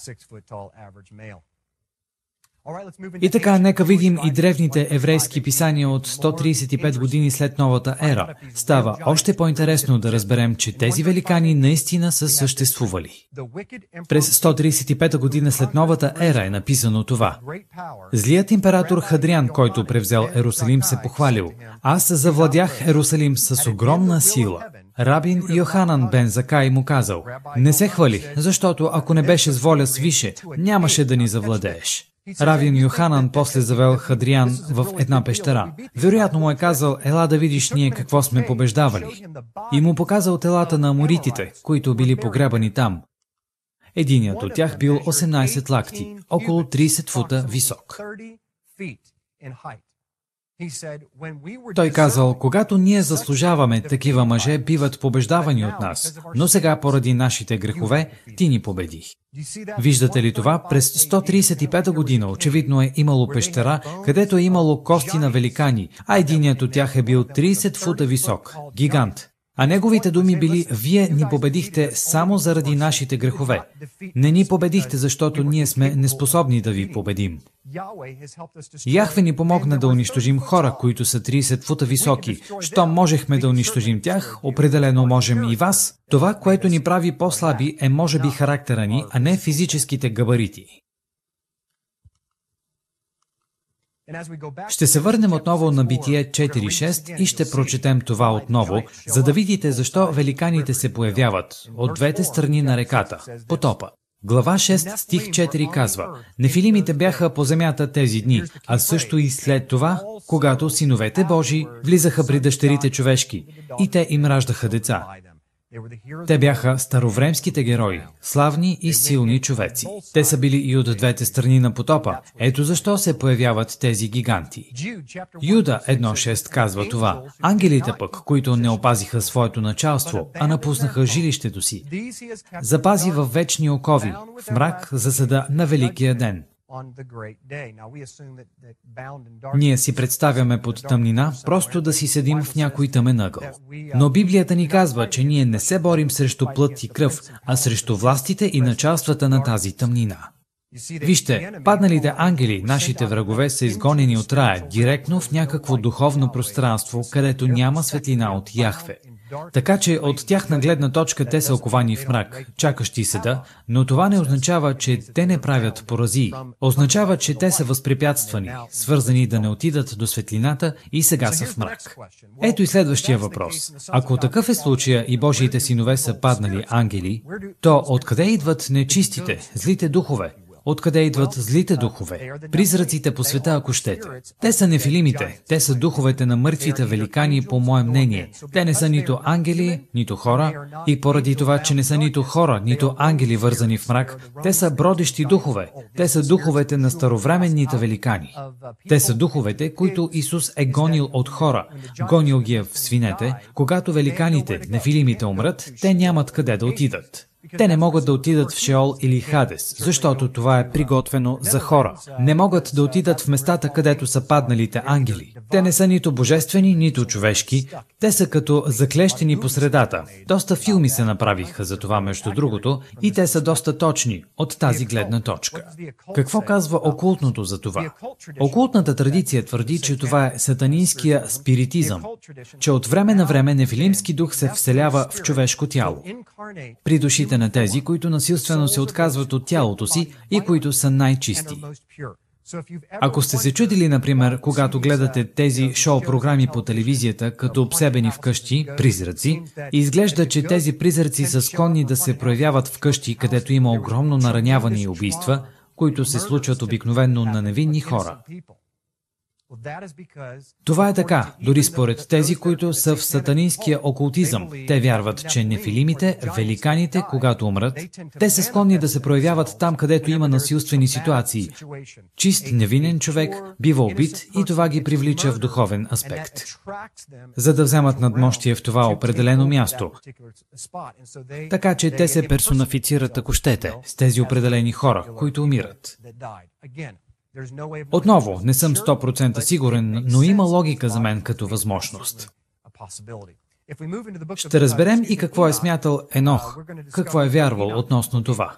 Speaker 1: И така, нека видим и древните еврейски писания от 135 години след новата ера. Става още по-интересно да разберем, че тези великани наистина са съществували. През 135 година след новата ера е написано това. Злият император Хадриан, който превзел Ерусалим, се похвалил. Аз завладях Ерусалим с огромна сила. Рабин Йоханан бен Закай му казал, не се хвали, защото ако не беше с воля свише, нямаше да ни завладееш. Равин Йоханан после завел Хадриан в една пещера. Вероятно му е казал, ела да видиш ние какво сме побеждавали. И му показал телата на аморитите, които били погребани там. Единият от тях бил 18 лакти, около 30 фута висок. Той казал, когато ние заслужаваме, такива мъже биват побеждавани от нас, но сега поради нашите грехове ти ни победи. Виждате ли това? През 135 година очевидно е имало пещера, където е имало кости на великани, а единият от тях е бил 30 фута висок, гигант. А неговите думи били, вие ни победихте само заради нашите грехове. Не ни победихте, защото ние сме неспособни да ви победим. Яхве ни помогна да унищожим хора, които са 30 фута високи. Щом можехме да унищожим тях, определено можем и вас. Това, което ни прави по-слаби, е може би характера ни, а не физическите габарити. Ще се върнем отново на Битие 4.6 и ще прочетем това отново, за да видите защо великаните се появяват от двете страни на реката, потопа. Глава 6, стих 4 казва, Нефилимите бяха по земята тези дни, а също и след това, когато синовете Божии влизаха при дъщерите човешки и те им раждаха деца. Те бяха старовремските герои, славни и силни човеци. Те са били и от двете страни на потопа. Ето защо се появяват тези гиганти. Юда 1.6 казва това. Ангелите пък, които не опазиха своето началство, а напуснаха жилището си, запази във вечни окови, в мрак за съда на Великия ден. Ние си представяме под тъмнина, просто да си седим в някой тъмен ъгъл. Но Библията ни казва, че ние не се борим срещу плът и кръв, а срещу властите и началствата на тази тъмнина. Вижте, падналите ангели, нашите врагове, са изгонени от рая, директно в някакво духовно пространство, където няма светлина от Яхве. Така че от тяхна гледна точка те са оковани в мрак, чакащи съда, но това не означава, че те не правят поразии. Означава, че те са възпрепятствани, свързани да не отидат до светлината и сега са в мрак. Ето и следващия въпрос. Ако такъв е случая и Божиите синове са паднали ангели, то откъде идват нечистите, злите духове? Откъде идват злите духове? Призраците по света, ако щете. Те са нефилимите, те са духовете на мъртвите великани, по мое мнение. Те не са нито ангели, нито хора, и поради това, че не са нито хора, нито ангели вързани в мрак, те са бродещи духове. Те са духовете на старовременните великани. Те са духовете, които Исус е гонил от хора. Гонил ги в свинете. Когато великаните, нефилимите умрат, те нямат къде да отидат. Те не могат да отидат в Шеол или Хадес, защото това е приготвено за хора. Не могат да отидат в местата, където са падналите ангели. Те не са нито божествени, нито човешки. Те са като заклещени по средата. Доста филми се направиха за това, между другото, и те са доста точни от тази гледна точка. Какво казва окултното за това? Окултната традиция твърди, че това е сатанинския спиритизъм, че от време на време нефилимски дух се вселява в човешко тяло. При душите душите на тези, които насилствено се отказват от тялото си и които са най-чисти. Ако сте се чудили, например, когато гледате тези шоу-програми по телевизията, като обсебени вкъщи, призраци, и изглежда, че тези призраци са склонни да се проявяват вкъщи, където има огромно нараняване и убийства, които се случват обикновено на невинни хора. Това е така, дори според тези, които са в сатанинския окултизъм. Те вярват, че нефилимите, великаните, когато умрат, те са склонни да се проявяват там, където има насилствени ситуации. Чист, невинен човек бива убит и това ги привлича в духовен аспект, за да вземат надмощие в това определено място. Така че те се персонифицират, ако щете, с тези определени хора, които умират. Отново, не съм 100% сигурен, но има логика за мен като възможност. Ще разберем и какво е смятал Енох, какво е вярвал относно това.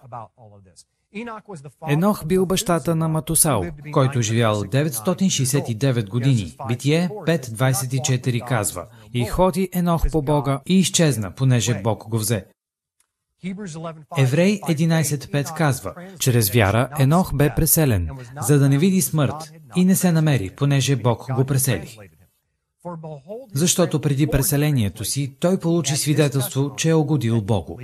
Speaker 1: Енох бил бащата на Матусал, който живял 969 години. Битие 5.24 казва: „И ходи Енох по Бога и изчезна, понеже Бог го взе“. Еврей 11.5 казва: „Чрез вяра Енох бе преселен, за да не види смърт, и не се намери, понеже Бог го пресели. Защото преди преселението си той получи свидетелство, че е угодил Богу.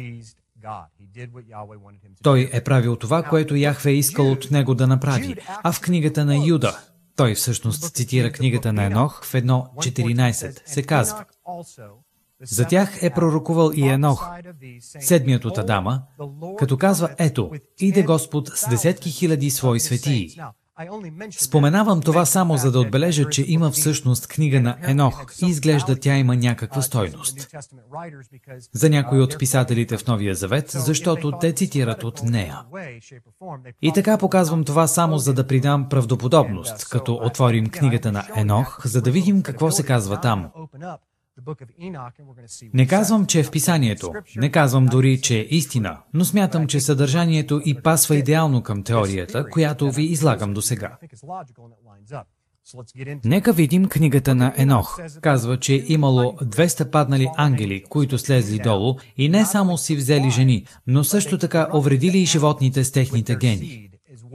Speaker 1: Той е правил това, което Яхве е искал от него да направи, а в книгата на Юда, той всъщност цитира книгата на Енох в 1.14, се казва: „За тях е пророкувал и Енох, седмият от Адама, като казва: „Ето, иде Господ с десетки хиляди свои светии“. Споменавам това само за да отбележа, че има всъщност книга на Енох и изглежда тя има някаква стойност за някои от писателите в Новия Завет, защото те цитират от нея. И така показвам това само за да придам правдоподобност, като отворим книгата на Енох, за да видим какво се казва там. Не казвам, че е в писанието, не казвам дори, че е истина, но смятам, че съдържанието и пасва идеално към теорията, която ви излагам досега. Нека видим книгата на Енох. Казва, че имало 200 паднали ангели, които слезли долу и не само си взели жени, но също така увредили и животните с техните гени.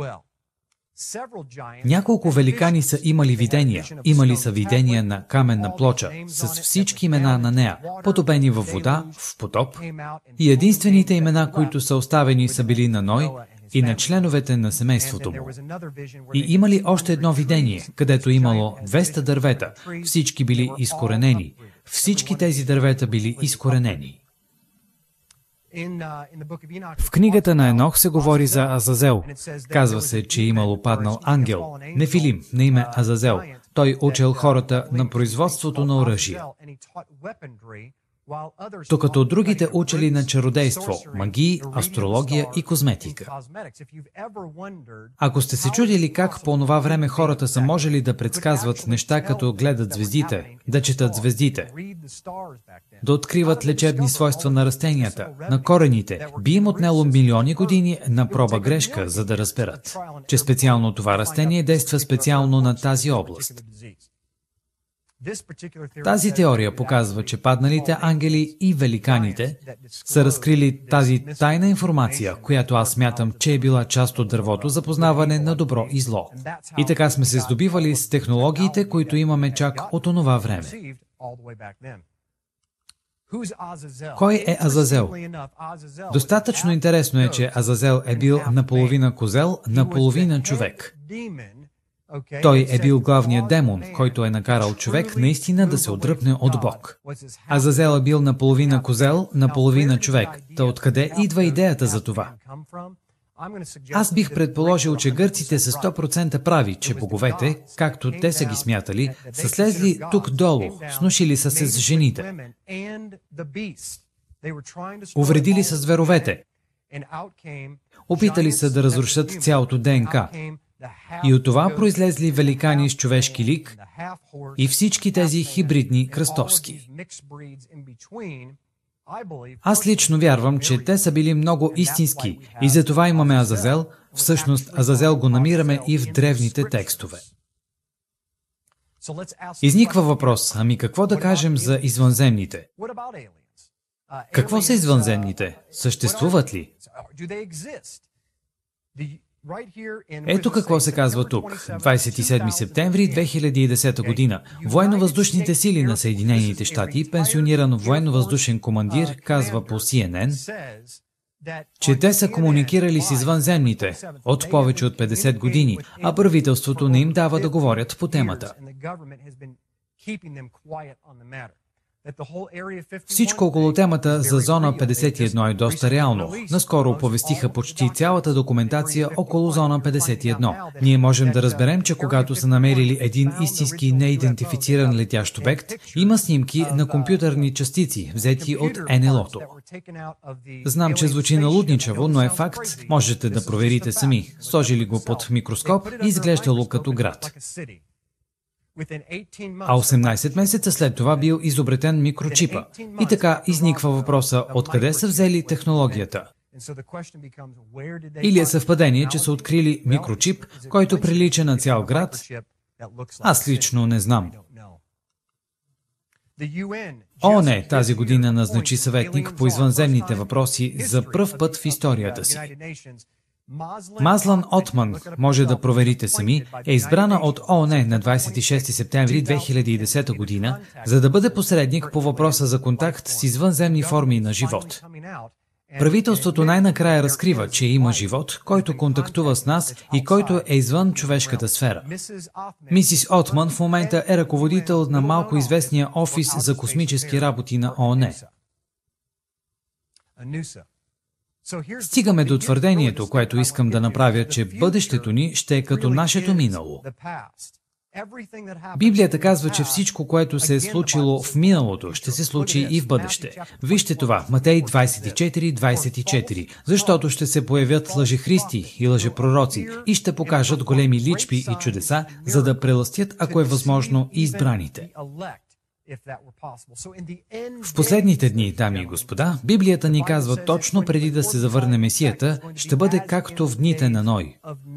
Speaker 1: Няколко великани са имали видения. Имали са видения на каменна плоча, с всички имена на нея, потопени във вода, в потоп, и единствените имена, които са оставени, са били на Ной и на членовете на семейството му. И имали още едно видение, където имало 200 дървета, всички били изкоренени. Всички тези дървета били изкоренени. В книгата на Енох се говори за Азазел. Казва се, че имало паднал ангел, Нефилим, на име Азазел. Той учил хората на производството на оръжие, докато другите учили на чародейство, магии, астрология и козметика. Ако сте се чудили как по онова време хората са можели да предсказват неща, като гледат звездите, да четат звездите, да откриват лечебни свойства на растенията, на корените, би им отнело милиони години на проба грешка, за да разберат, че специално това растение действа специално на тази област. Тази теория показва, че падналите ангели и великаните са разкрили тази тайна информация, която аз смятам, че е била част от дървото за познаване на добро и зло. И така сме се здобивали с технологиите, които имаме чак от онова време. Кой е Азазел? Достатъчно интересно е, че Азазел е бил наполовина козел, наполовина човек. Той е бил главният демон, който е накарал човек наистина да се отдръпне от Бог. Азазел е бил наполовина козел, наполовина човек. Та откъде идва идеята за това? Аз бих предположил, че гърците са 100% прави, че боговете, както те са ги смятали, са слезли тук долу, снушили са се с жените, увредили са зверовете, опитали са да разрушат цялото ДНК. И от това произлезли великани с човешки лик и всички тези хибридни кръстовски. Аз лично вярвам, че те са били много истински и затова имаме Азазел. Всъщност Азазел го намираме и в древните текстове. Изниква въпрос, ами какво да кажем за извънземните? Какво са извънземните? Съществуват ли? Ето какво се казва тук. 27 септември 2010 година. Военно-въздушните сили на Съединените щати, пенсиониран военно-въздушен командир, казва по CNN, че те са комуникирали с извънземните от повече от 50 години, а правителството не им дава да говорят по темата. Всичко около темата за зона 51 е доста реално. Наскоро оповестиха почти цялата документация около зона 51. Ние можем да разберем, че когато са намерили един истински неидентифициран летящ обект, има снимки на компютърни частици, взети от НЛО-то. Знам, че звучи налудничаво, но е факт, можете да проверите сами. Сложили го под микроскоп и изглеждало като град. А 18 месеца след това бил изобретен микрочипа. И така изниква въпроса, откъде са взели технологията? Или е съвпадение, че са открили микрочип, който прилича на цял град? Аз лично не знам. ООН тази година назначи съветник по извънземните въпроси за пръв път в историята си. Мазлан Отман, може да проверите сами, е избрана от ООН на 26 септември 2010 година, за да бъде посредник по въпроса за контакт с извънземни форми на живот. Правителството най-накрая разкрива, че има живот, който контактува с нас и който е извън човешката сфера. Мисис Отман в момента е ръководител на малко известния офис за космически работи на ООН. Стигаме до твърдението, което искам да направя, че бъдещето ни ще е като нашето минало. Библията казва, че всичко, което се е случило в миналото, ще се случи и в бъдеще. Вижте това, Матей 24:24, защото ще се появят лъжехристи и лъжепророци и ще покажат големи личби и чудеса, за да прелъстят, ако е възможно, и избраните. В последните дни, дами и господа, Библията ни казва точно преди да се завърне Месията, ще бъде както в дните на Ной.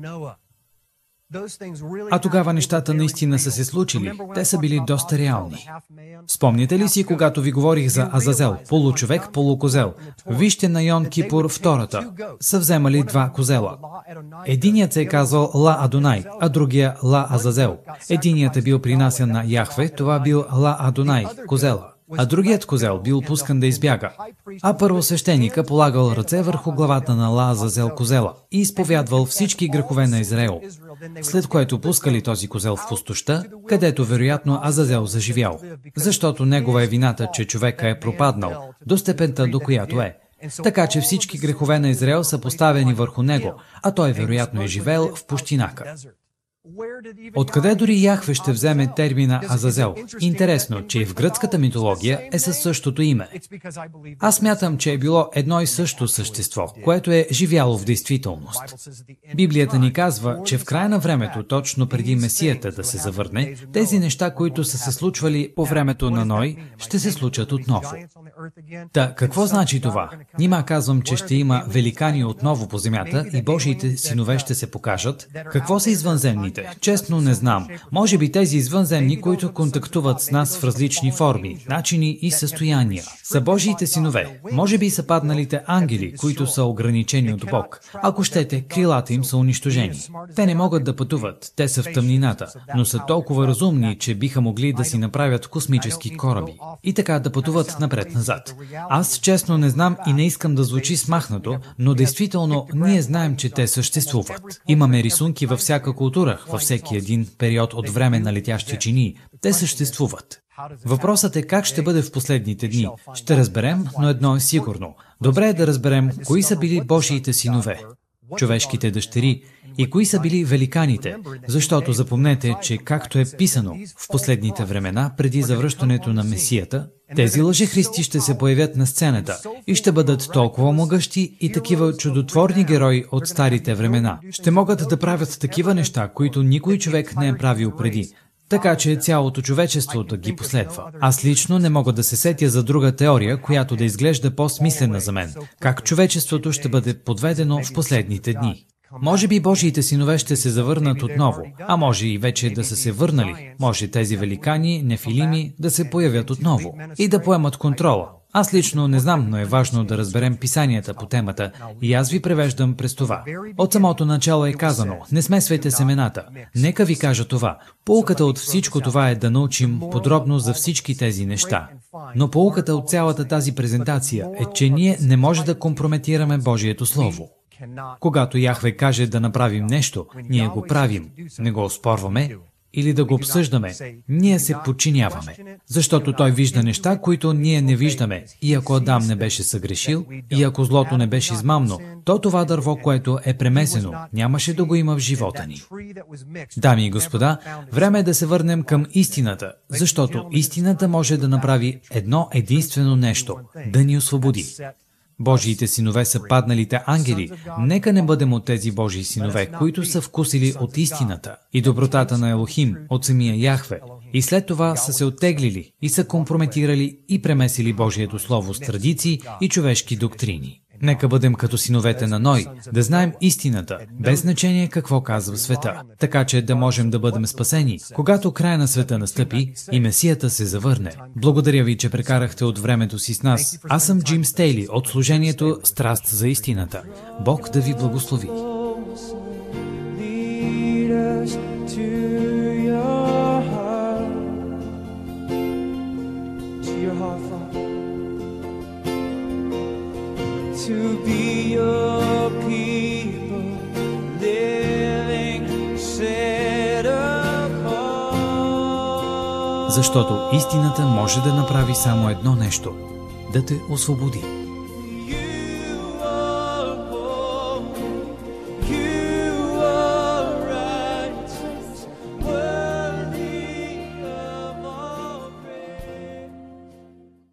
Speaker 1: А тогава нещата наистина са се случили. Те са били доста реални. Спомняте ли си, когато ви говорих за Азазел, получовек, полукозел? Вижте на Йом Кипур втората. Са вземали два козела. Единият се е казвал Ла Адонай, а другия Ла Азазел. Единият е бил принасян на Яхве, това бил Ла Адонай, козела. А другият козел бил пускан да избяга. А първосвещеника полагал ръце върху главата на Ла Азазел козела и изповядвал всички грехове на Израел. След което пускали този козел в пустоща, където вероятно Азазел заживял, защото негова е вината, че човека е пропаднал до степента, до която е. Така че всички грехове на Израел са поставени върху него, а той вероятно е живеел в пустинака. Откъде дори Яхве ще вземе термина Азазел? Интересно, че и в гръцката митология е със същото име. Аз смятам, че е било едно и също същество, което е живяло в действителност. Библията ни казва, че в края на времето, точно преди Месията да се завърне, тези неща, които са се случвали по времето на Ной, ще се случат отново. Та, какво значи това? Нима казвам, че ще има великани отново по земята и Божиите синове ще се покажат. Какво са извънземните? Честно не знам. Може би тези извънземни, които контактуват с нас в различни форми, начини и състояния, са Божиите синове. Може би са падналите ангели, които са ограничени от Бог. Ако щете, крилата им са унищожени. Те не могат да пътуват, те са в тъмнината, но са толкова разумни, че биха могли да си направят космически кораби и така да пътуват напред-назад. Аз честно не знам и не искам да звучи смахнато, но действително ние знаем, че те съществуват. Имаме рисунки във всяка култура, във всеки един период от време на летящи чинии. Те съществуват. Въпросът е как ще бъде в последните дни. Ще разберем, но едно е сигурно. Добре е да разберем кои са били Божиите синове, човешките дъщери, и кои са били великаните, защото запомнете, че както е писано в последните времена, преди завръщането на Месията, тези лъжехристи ще се появят на сцената и ще бъдат толкова могъщи и такива чудотворни герои от старите времена. Ще могат да правят такива неща, които никой човек не е правил преди, така че цялото човечество да ги последва. Аз лично не мога да се сетя за друга теория, която да изглежда по-смислена за мен, как човечеството ще бъде подведено в последните дни. Може би Божиите синове ще се завърнат отново, а може и вече да са се върнали. Може тези великани, нефилими, да се появят отново и да поемат контрола. Аз лично не знам, но е важно да разберем писанията по темата и аз ви превеждам през това. От самото начало е казано, не смесвайте семената. Нека ви кажа това. Поуката от всичко това е да научим подробно за всички тези неща. Но поуката от цялата тази презентация е, че ние не може да компрометираме Божието Слово. Когато Яхве каже да направим нещо, ние го правим, не го оспорваме, или да го обсъждаме, ние се подчиняваме, защото Той вижда неща, които ние не виждаме. И ако Адам не беше съгрешил, и ако злото не беше измамно, то това дърво, което е премесено, нямаше да го има в живота ни. Дами и господа, време е да се върнем към истината, защото истината може да направи едно единствено нещо – да ни освободи. Божиите синове са падналите ангели. Нека не бъдем от тези Божии синове, които са вкусили от истината и добротата на Елохим, от самия Яхве, и след това са се оттеглили и са компрометирали и премесили Божието Слово с традиции и човешки доктрини. Нека бъдем като синовете на Ной, да знаем истината, без значение какво казва света, така че да можем да бъдем спасени, когато края на света настъпи и Месията се завърне. Благодаря ви, че прекарахте от времето си с нас. Аз съм Джим Стейли от служението Страст за истината. Бог да ви благослови.
Speaker 2: To be your people, living set apart.
Speaker 1: Защото истината може да направи само едно нещо – да те освободи.